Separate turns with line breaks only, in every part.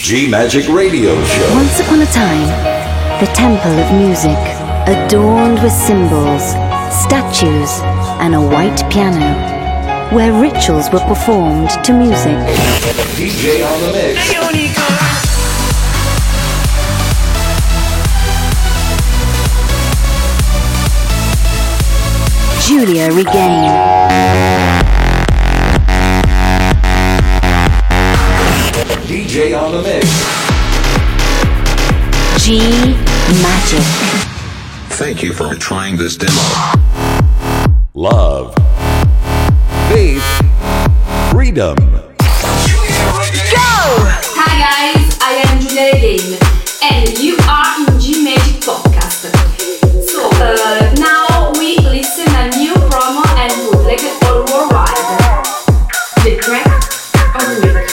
G Magic Radio Show.
Once upon a time, the temple of music, adorned with symbols, statues, and a white piano, where rituals were performed to music.
DJ on the mix.
Giulia Regain.
DJ on the mix.
G Magic.
Thank you for trying this demo.
Love. Faith. Freedom.
Go! Hi guys, I am Giulia Regain and you are in G Magic Podcast. So, now we listen a new promo and bootleg all worldwide. The track of the week.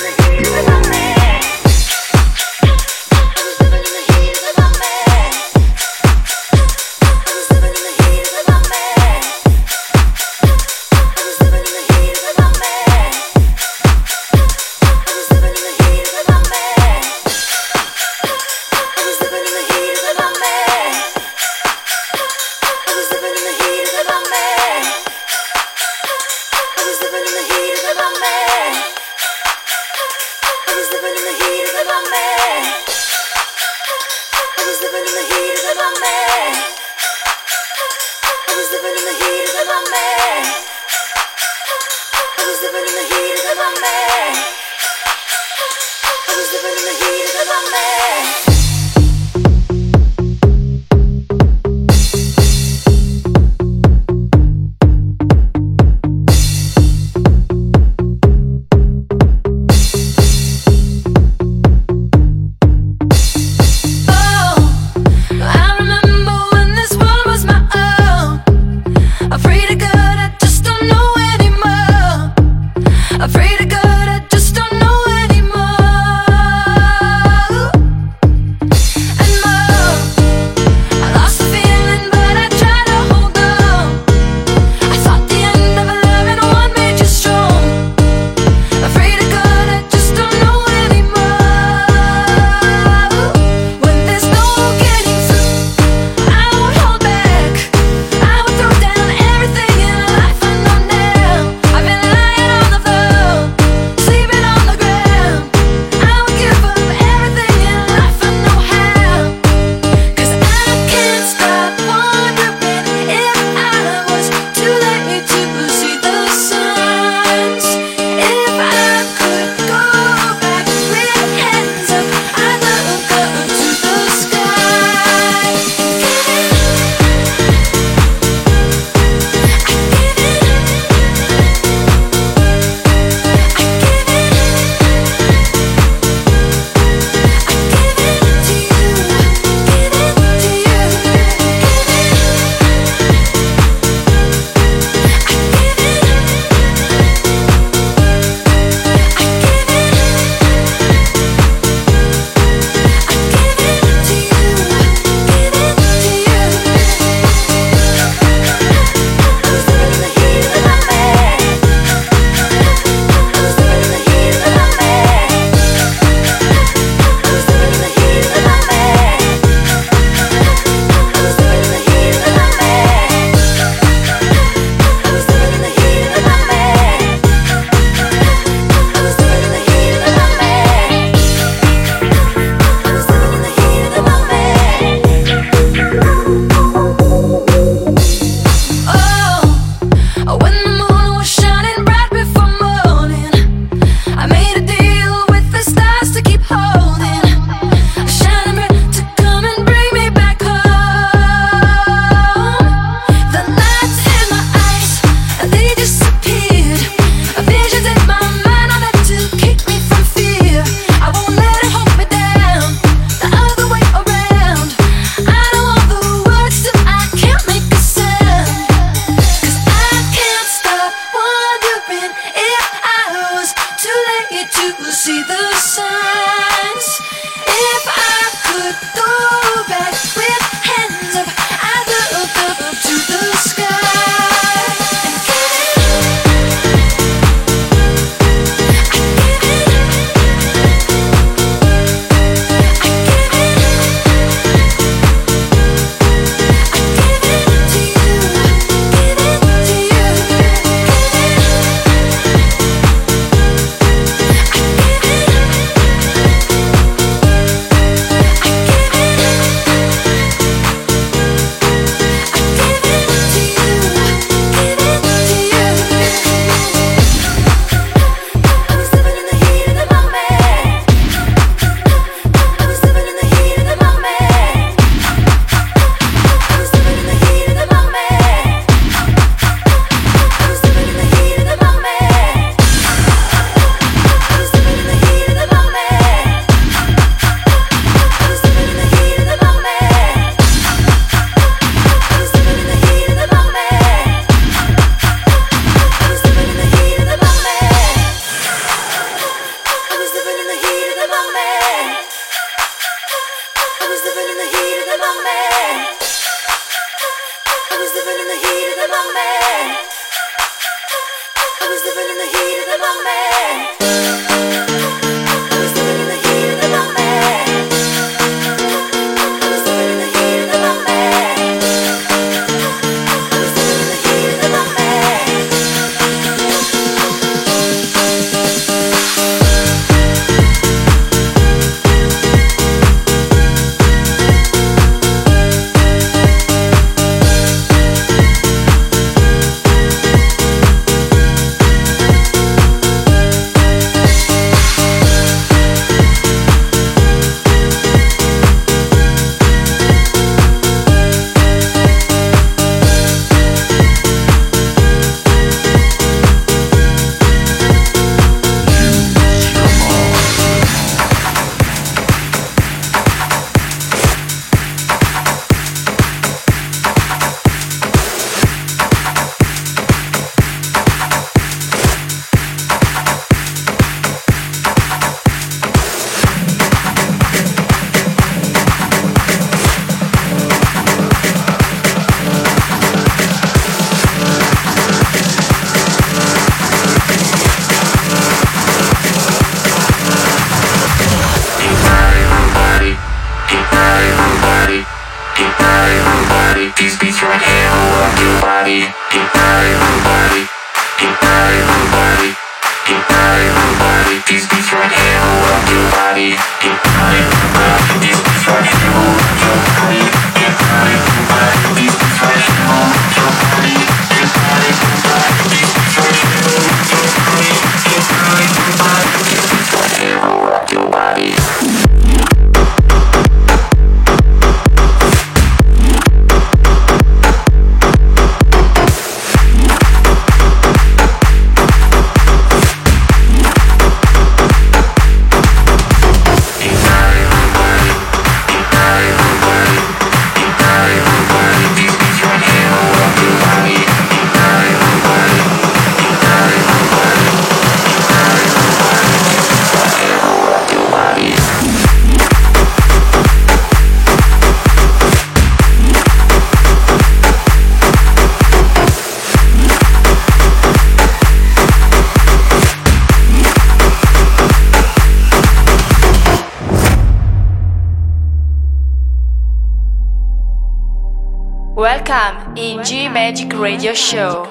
Welcome in G Magic Radio Show.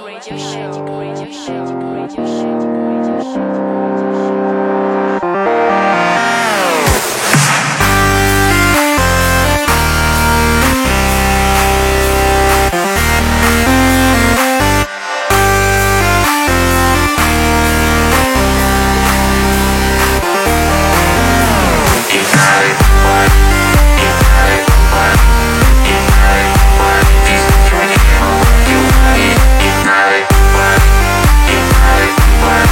Ignite,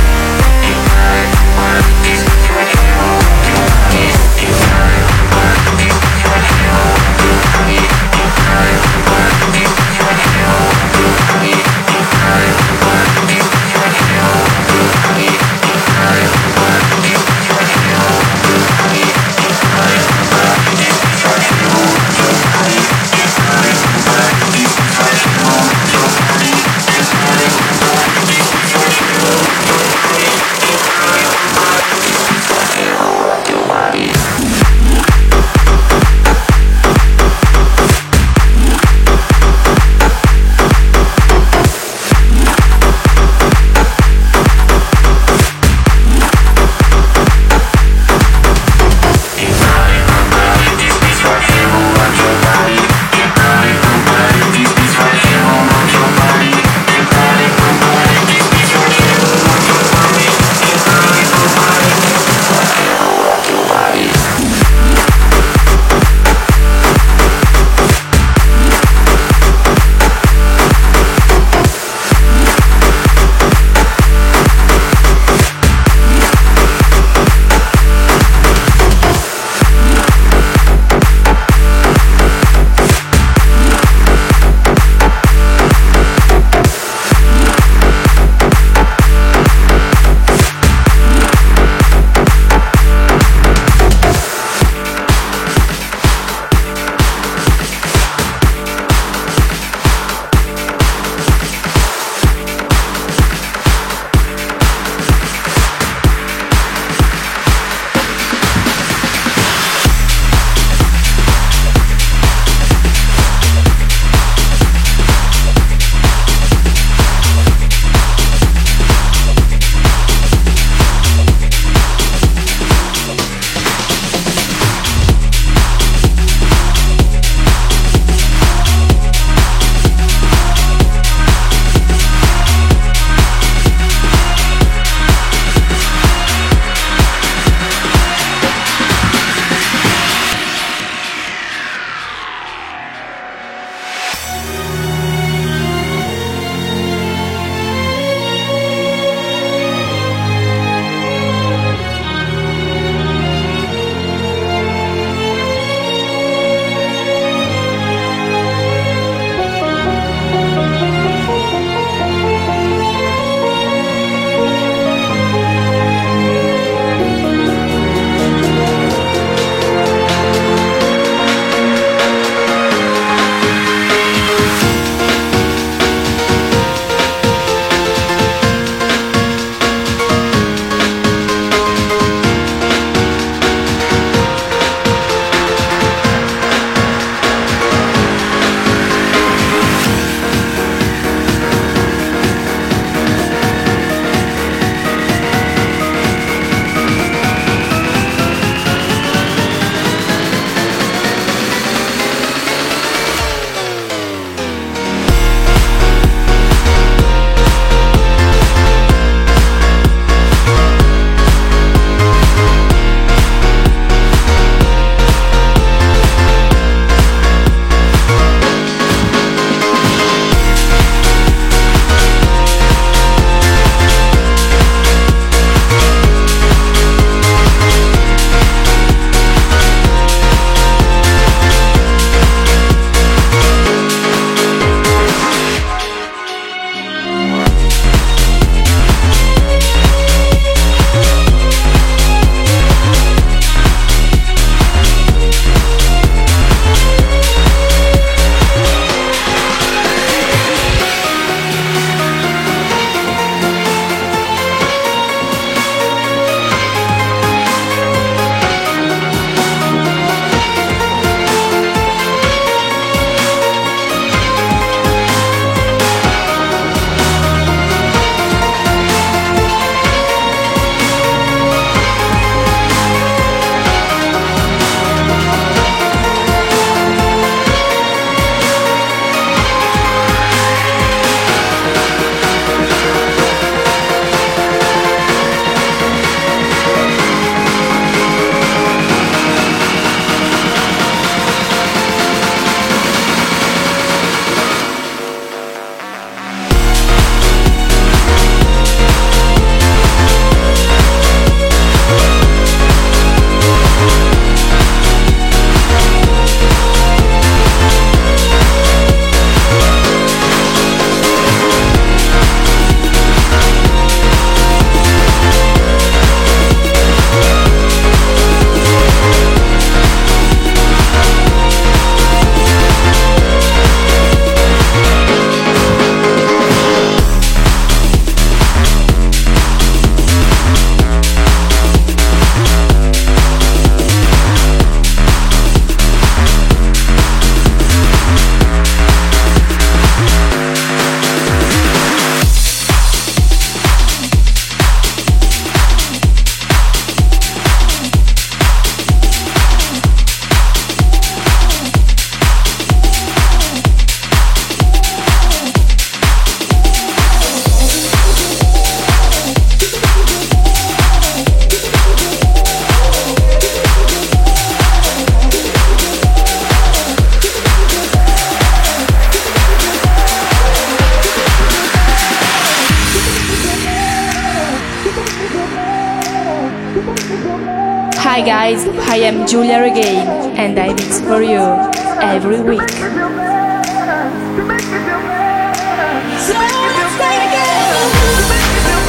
Hi guys, I am Giulia Regain and I mix for you every week. So let's play again.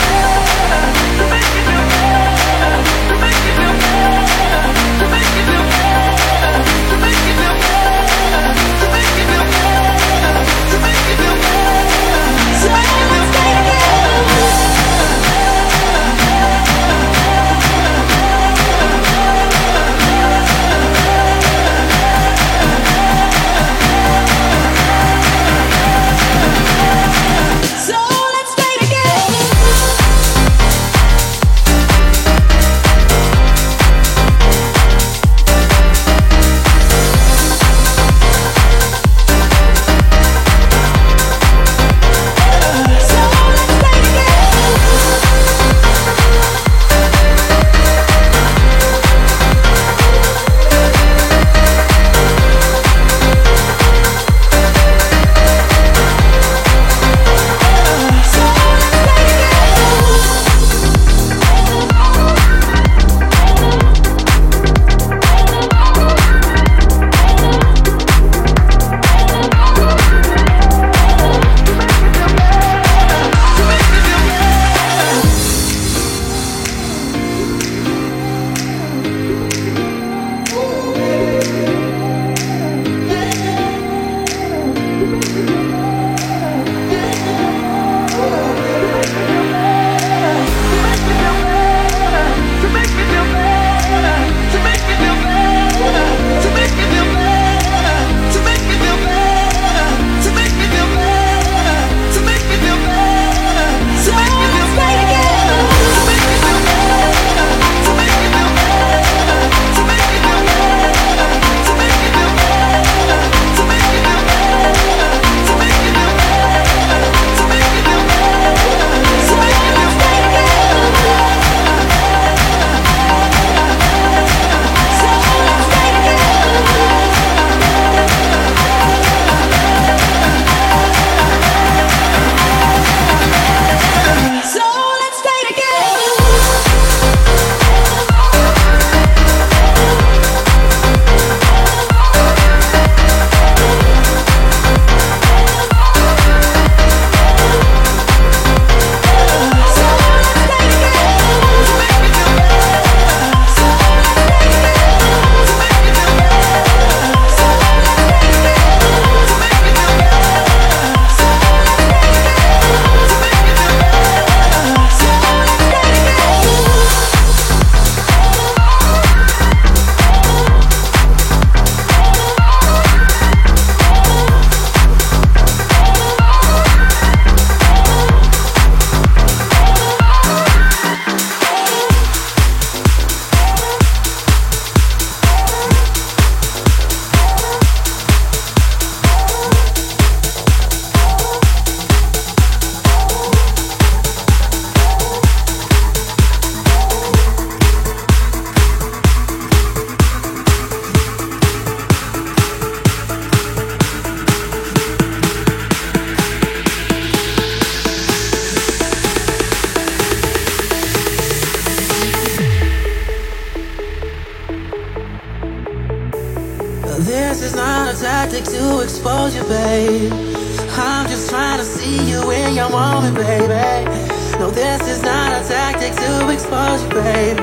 This is not a tactic to expose you, babe. I'm just trying to see you in your moment, baby. No, this is not a tactic to expose you, babe.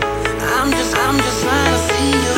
I'm just trying to see you.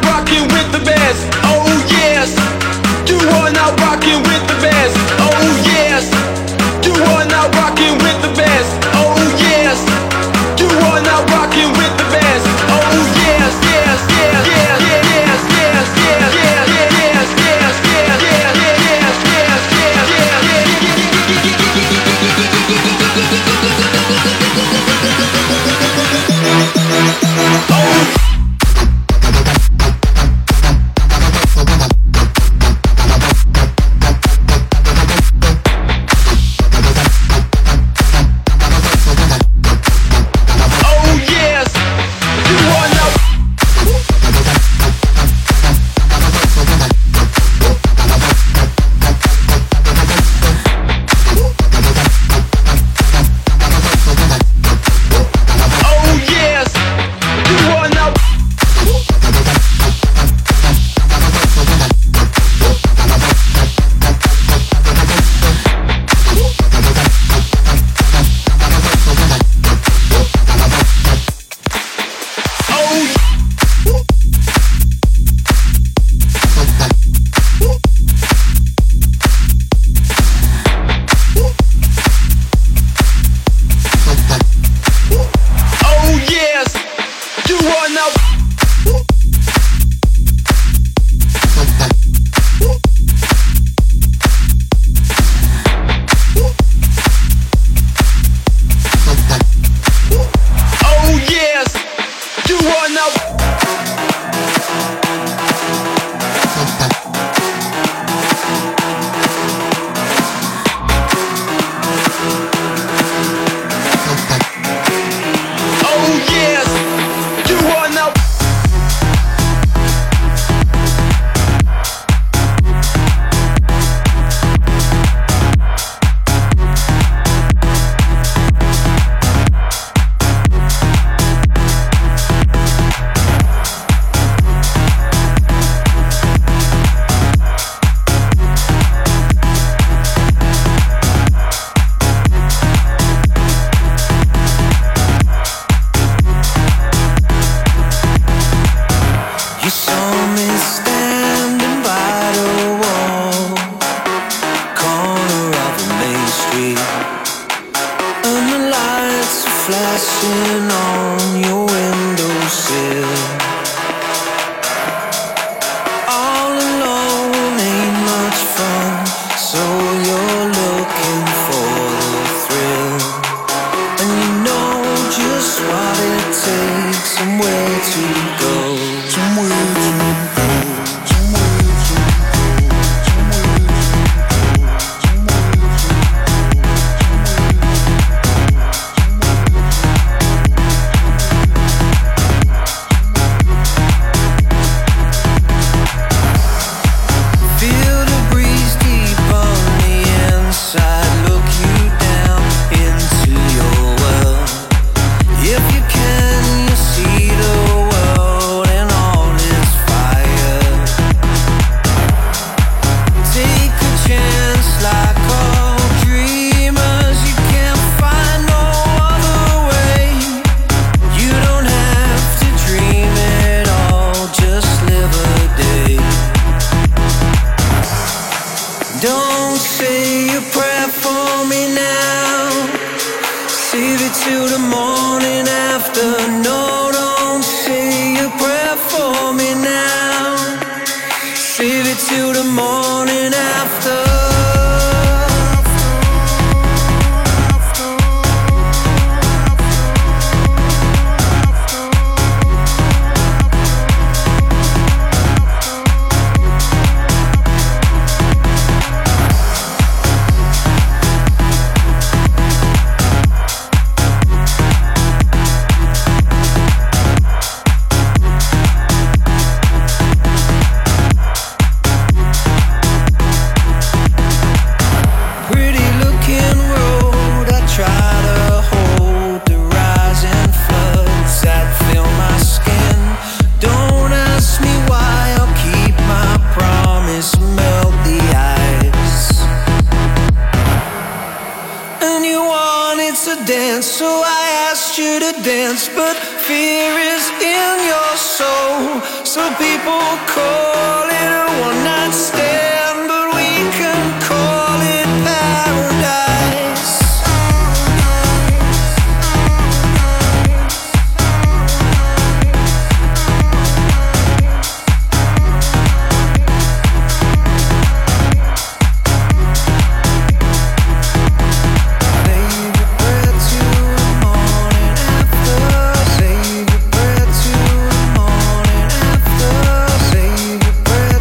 rocking with the best. Oh yes, you are now rocking with the best. Oh yes, you are now rocking with the best. Oh yes, you are now rocking with the best. Oh yes, yes, yes, yes, yes, yes, yes, yes, yes, yes, yes, yes,
So I asked you to dance, but fear is in your soul.
Some people call it a one-night stand, but we can call it paradise.
Save your breath till the morning after.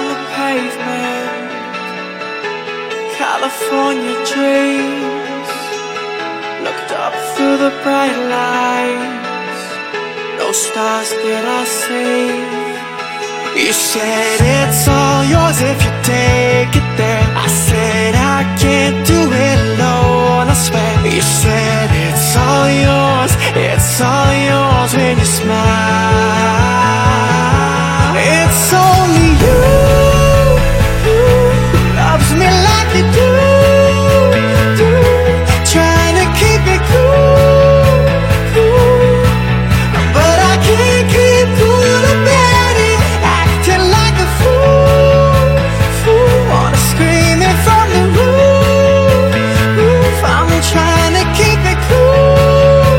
on the pavement, California dreams. Looked up through the bright lights, no stars did I see. You said it's all yours if you take it there. I said I can't do it alone, I swear. You said it's all yours when you smile. It's only you who loves me like you do, trying to keep it cool, but I can't keep cool about it, acting like a fool, wanna scream it from the roof. I'm trying to keep it cool,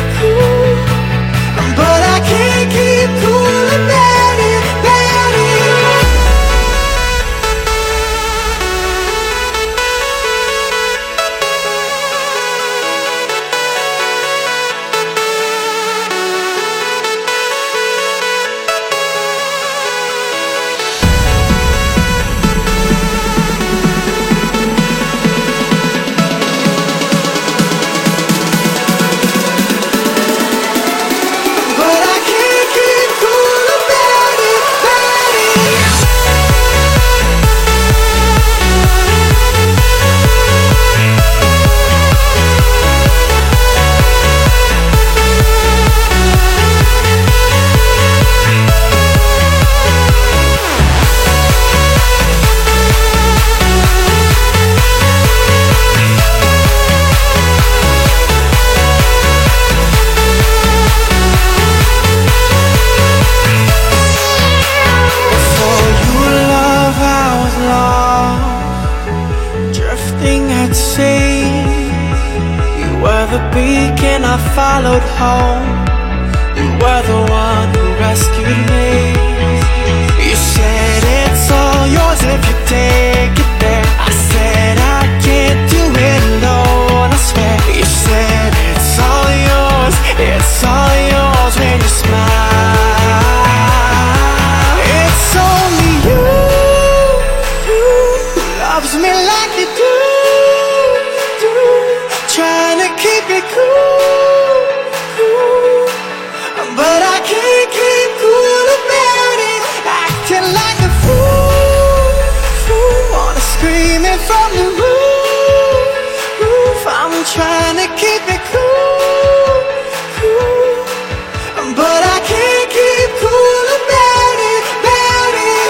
but I can't keep cool about it, about it. But I can't keep cool about it, about it. Before you love, I was lost, drifting at sea. You were the beacon I followed home. You were the one who rescued me. You said it's all yours if you take it there. I said I can't do it alone, I swear. You said it's all yours when you smile. It's only you who loves me like you do, trying to keep it cool, but I can't keep cool about it, acting like a fool, wanna scream it from the roof. I'm trying to keep it cool, but I can't keep cool about it, about it.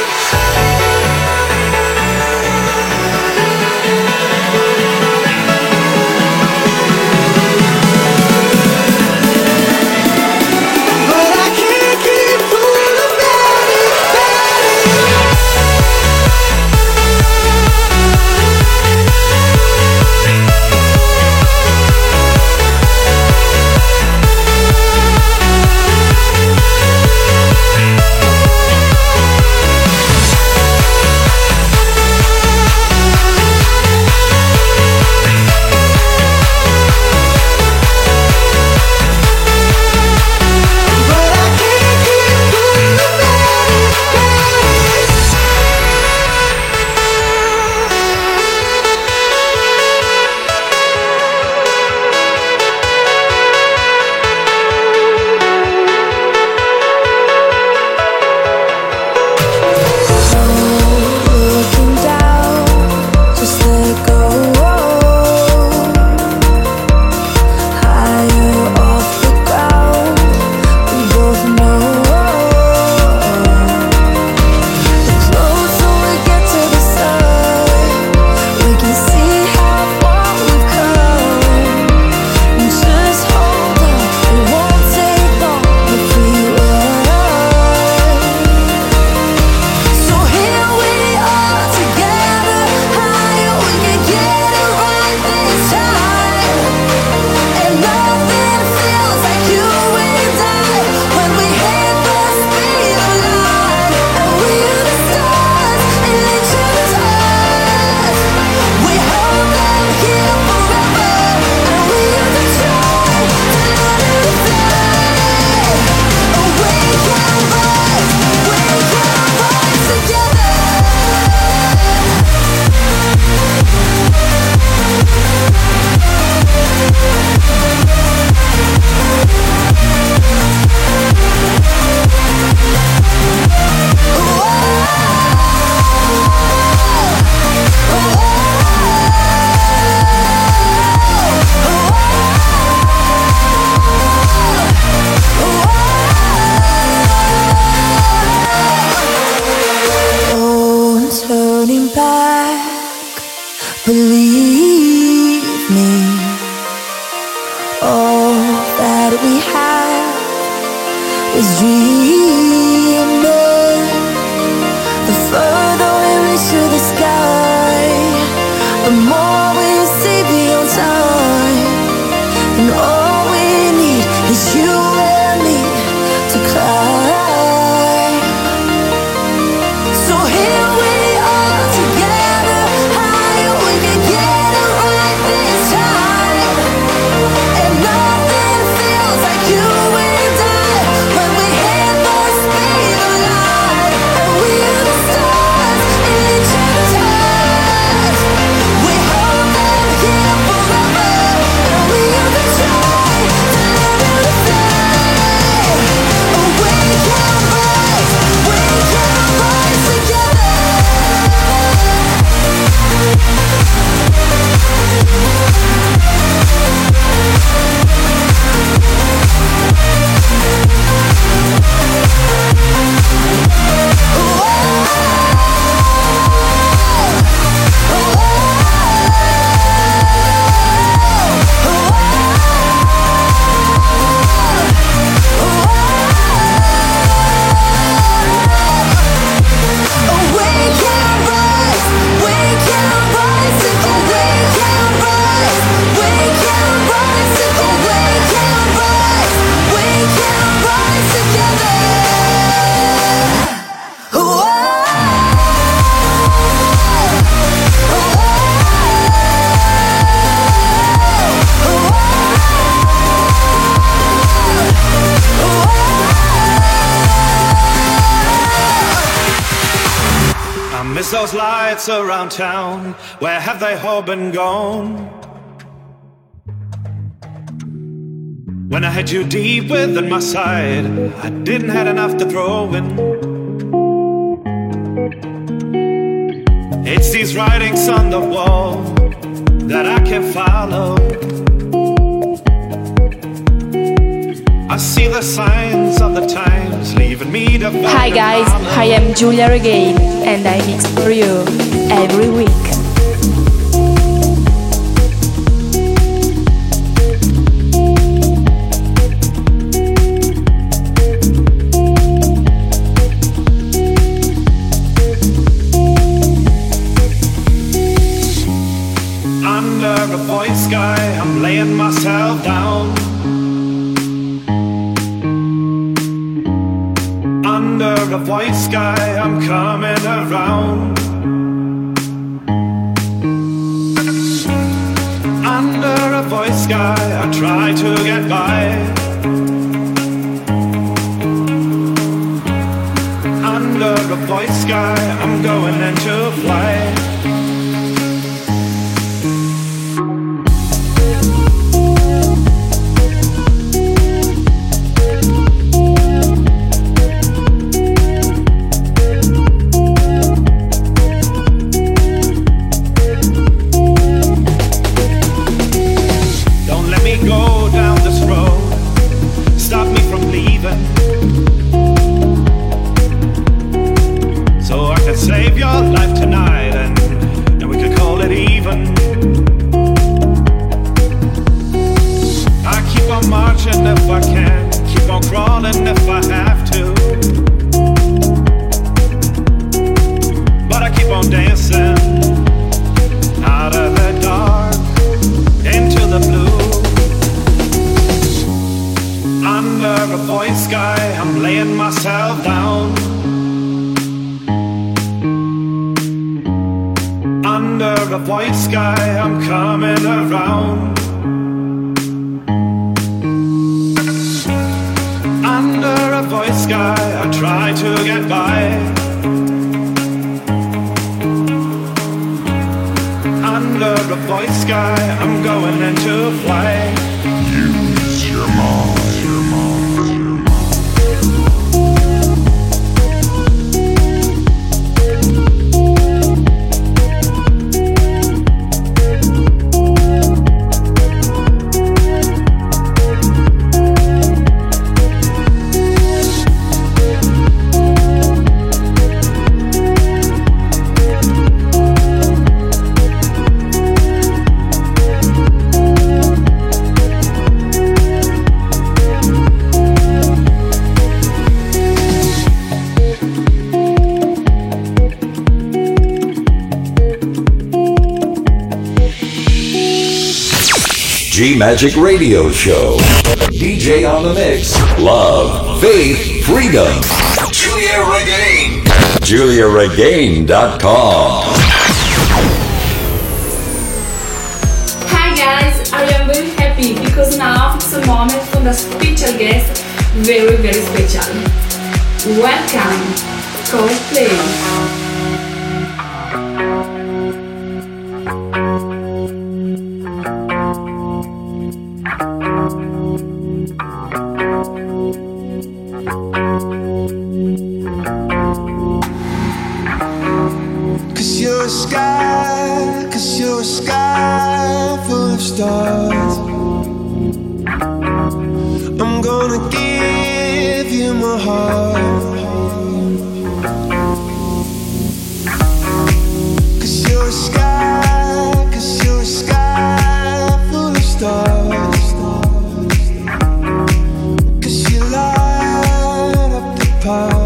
turning back. Believe me, all that we have is dreaming. The further we reach to the sky, the more we see beyond time. And all we need is you and me to climb. So here we are together, high, we can get it right this time. And nothing feels like you and I when we hit the speed of light. And we are the stars in each other's eyes. We hold them here forever, and we are the try to learn to fly. Oh, we can rise together.
Miss those lights around town, where have they all been gone? When I had you deep within my side, I didn't have enough to throw in. It's these writings on the wall that I can't follow. I see the signs of the times leaving me to find.
Hi guys, I am Giulia Regain and I mix for you every week.
Under a void sky, I'm laying myself down. Under a white sky, I'm coming around. Under a white sky, I try to get by. Under a white sky, I'm going into flight. Save your life tonight and we could call it even. I keep on marching if I can, keep on crawling if I have to. But I keep on dancing out of the dark into the blue. Under a void sky, I'm laying myself down. Under a white sky, I'm coming around. Under a white sky, I try to get by. Under a white sky, I'm going into flight. Use your mind.
G Magic Radio Show. DJ on the mix. Love, faith, freedom. Julia Regain. JuliaRegain.com.
Hi guys, I am very happy because now it's a moment for the special guest, very very special. Welcome, Coldplay.
Cause you're a sky full of stars. I'm gonna give you my heart. Cause you're a sky full of stars. Cause you light up the park.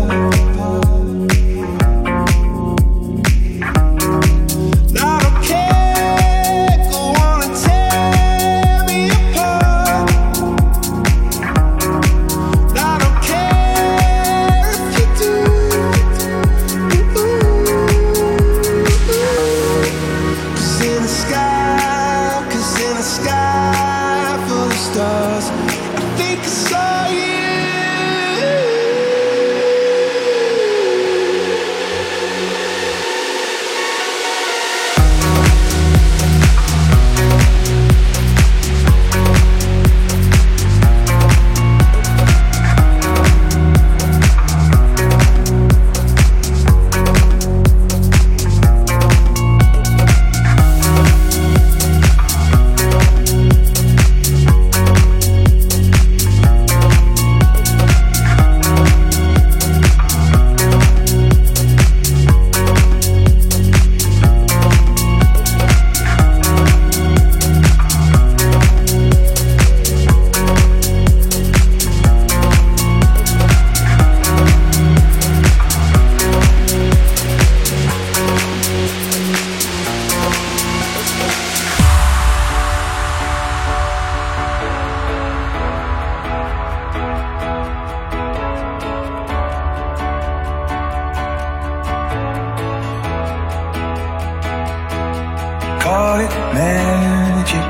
Call it magic,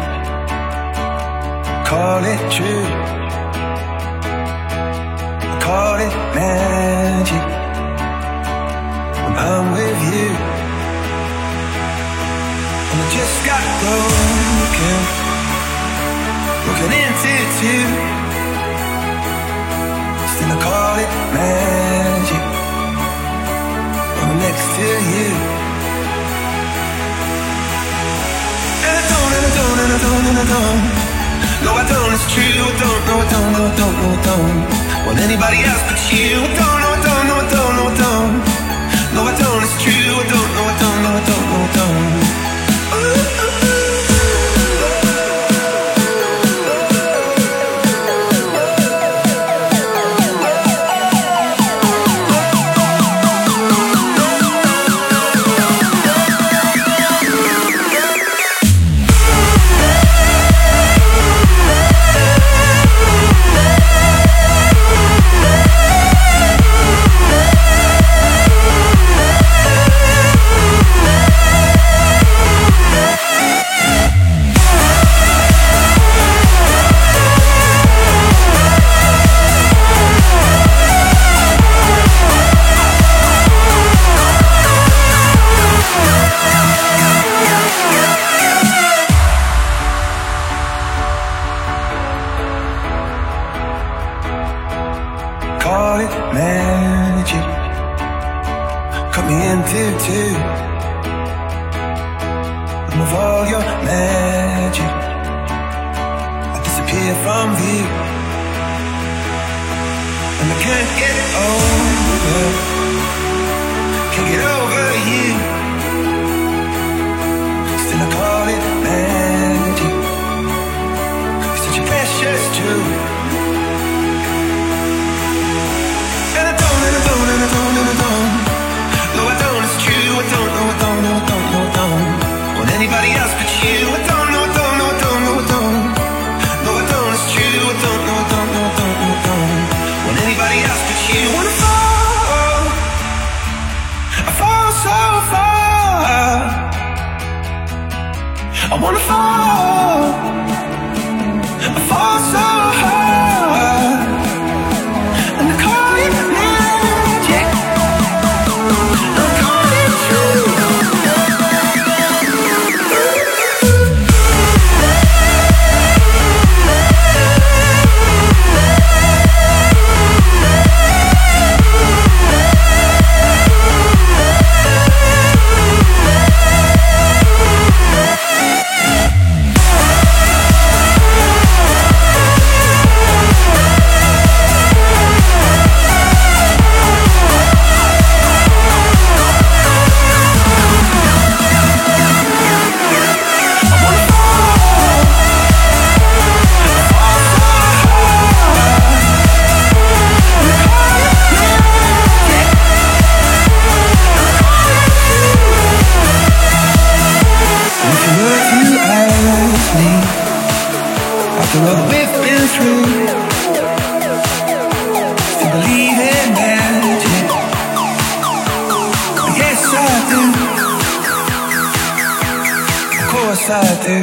call it true. Call it magic when I'm with you. And I just got broken into two. Still I call it magic when I'm next to you. And I don't. No, I don't, it's true. I don't, no, I don't, no, I don't, no, I don't want anybody else but you. I don't, no, I don't, no, I don't, no, I don't. No, I don't, it's true. I don't, no, I don't, no, I don't, no, I don't.
passate.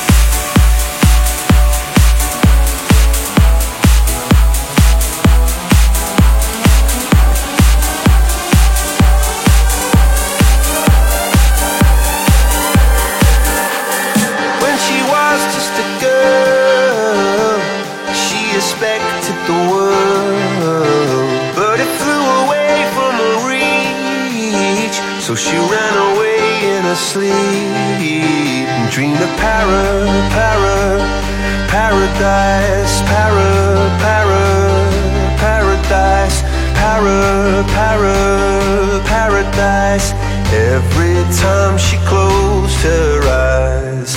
When she was just a girl, she expected the world, but it flew away from her reach. So she ran away in her sleep and dreamed of paradise, paradise, paradise. Every time she closed her eyes.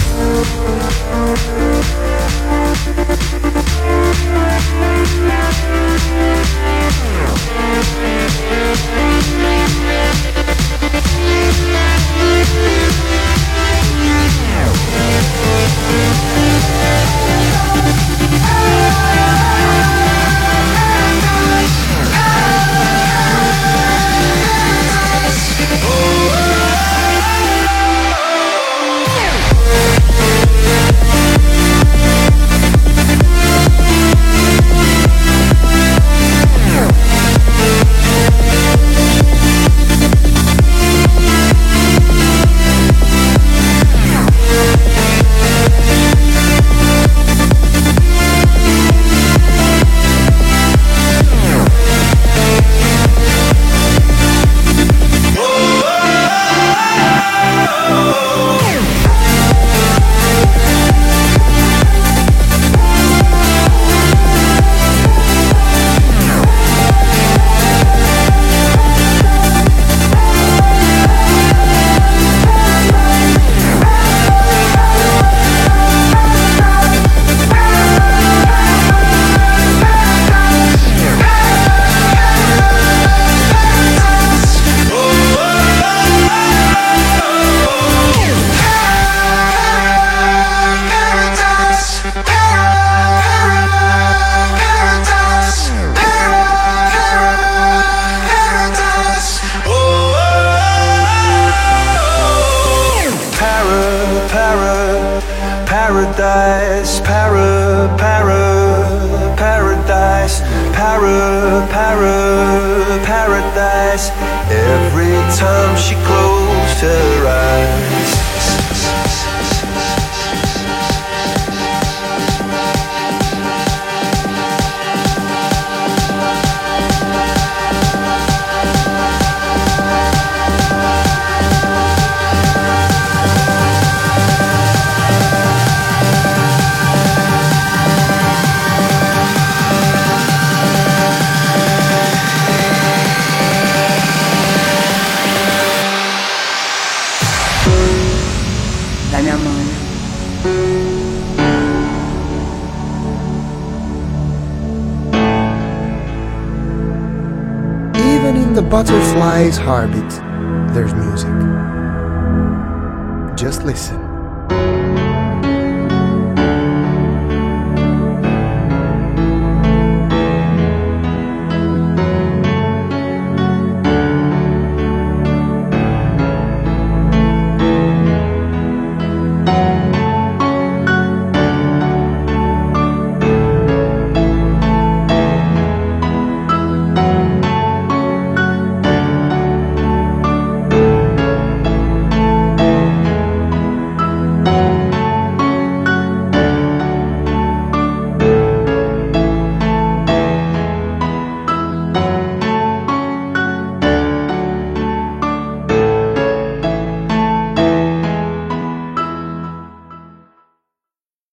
Paradise, paradise. Every time she closed her eyes.
La mia mano.
Even in the butterfly's heartbeat, there's music. Just listen.